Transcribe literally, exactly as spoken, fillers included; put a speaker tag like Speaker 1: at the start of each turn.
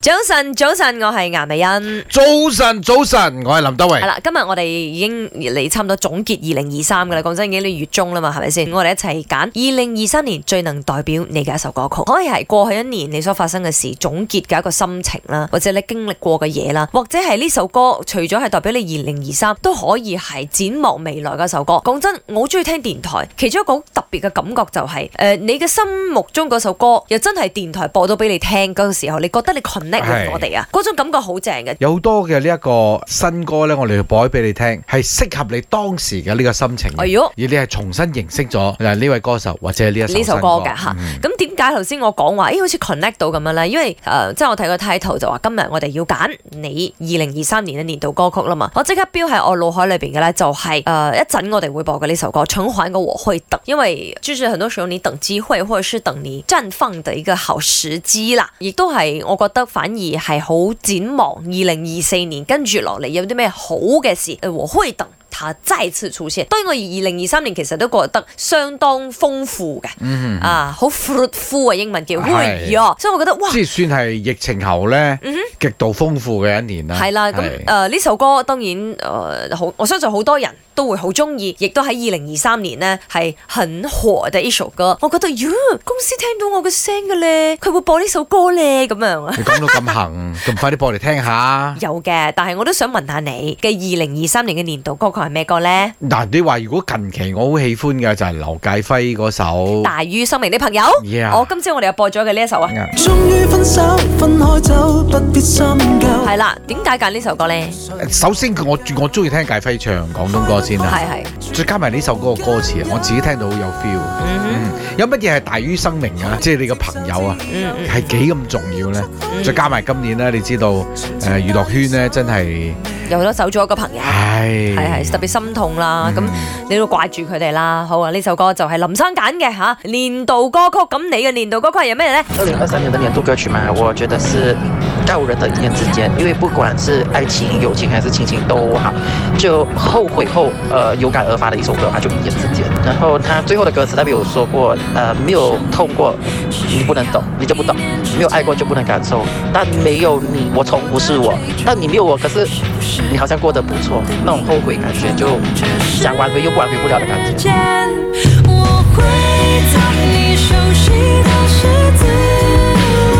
Speaker 1: 早晨，早晨，我係顏美欣。
Speaker 2: 早晨，早晨，我係林德榮。
Speaker 1: 係啦，今日我哋已經嚟差唔多總結二零二三噶啦。講真，已經呢月中啦嘛，係咪先？我哋一齊揀二零二三年最能代表你嘅一首歌曲，可以係過去一年你所發生嘅事總結嘅一個心情啦，或者你經歷過嘅嘢啦，或者係呢首歌除咗係代表你二零二三，都可以係展望未來嘅一首歌。講真，我好中意聽電台，其中一個好特別嘅感覺就係、是、誒、呃，你嘅心目中嗰首歌又真係電台播到俾你聽嗰個時候，你覺得你 connect with我哋啊，嗰種感覺好正嘅。
Speaker 2: 有好多嘅呢一個新歌咧，我哋要播俾你聽，係適合你當時嘅呢個心情。哎喲，而你係重新認識咗嗱呢位歌手或者呢一首
Speaker 1: 呢首歌嘅吓。咁點解頭先我講話誒好似 connect 到咁樣咧？因為誒、呃、即係我睇個 title 就話今日我哋要揀你二零二三年嘅年度歌曲啦嘛。我即刻標喺我腦海裏邊嘅咧，就係誒一陣我哋會播嘅呢首歌《循環嘅我會等》，因為就是很多時候你等機會，或者是等你綻放的一個好時機啦，亦都係我覺得反而係好展望二零二四年跟住落嚟有啲咩好嘅事，誒我會等它再次出現。當然我二零二三年其實都覺得相當豐富嘅，嗯、啊好 fruitful 啊，英文叫 fruit，所以我覺得哇，
Speaker 2: 即係算係疫情後咧、嗯、極度豐富嘅一年啦。係啦，咁
Speaker 1: 誒呢首歌當然誒好、呃，我相信好多人都會好中意，亦都喺二零二三年呢係很火嘅一首歌。我覺得，喲，公司聽到我嘅聲嘅咧，佢會播呢首歌咧，咁樣啊。
Speaker 2: 你講到咁行，咁快啲播嚟聽下。
Speaker 1: 有嘅，但係我都想問下你嘅二零二三年嘅年度歌曲係咩歌咧？
Speaker 2: 嗱，你話如果近期我好喜歡嘅就係劉介輝嗰首《
Speaker 1: 大於生命的朋友》。
Speaker 2: Yeah.
Speaker 1: 我今朝我哋又播咗嘅呢一首啊。
Speaker 3: 終於分手，分開走，不必深究。
Speaker 1: 係啦，點解揀呢首歌咧？
Speaker 2: 首先我我中意聽介輝唱廣東歌先啦。係係。再加埋呢首歌嘅歌詞，我自己聽到好有 feel。嗯嗯。有乜嘢係大於生命啊？即係你個朋友啊，係幾咁重要咧？嗯、再加埋今年咧，你知道誒娛樂圈咧真係
Speaker 1: 有好多走咗一個朋友，係係係特別心痛啦。咁、嗯、你都掛住佢哋啦。好啊，呢首歌就係林生揀嘅嚇年度歌曲。咁你嘅年度歌曲係有咩咧？
Speaker 4: 二零二三年的年度歌曲嘛，我覺得是告人的一念之間，因為不管是愛情、友情還是親情都好，就後悔後，呃有感而發的一首歌，它就一念之間。然後他最後的歌詞，他沒有說過，呃沒有痛過，你不能懂，你就不懂；沒有愛過就不能感受。但沒有你，我從不是我；但你沒有我，可是你好像過得不錯，那種後悔感覺，就想挽回又不挽回不了的感覺。
Speaker 3: 我會在你熟悉的十字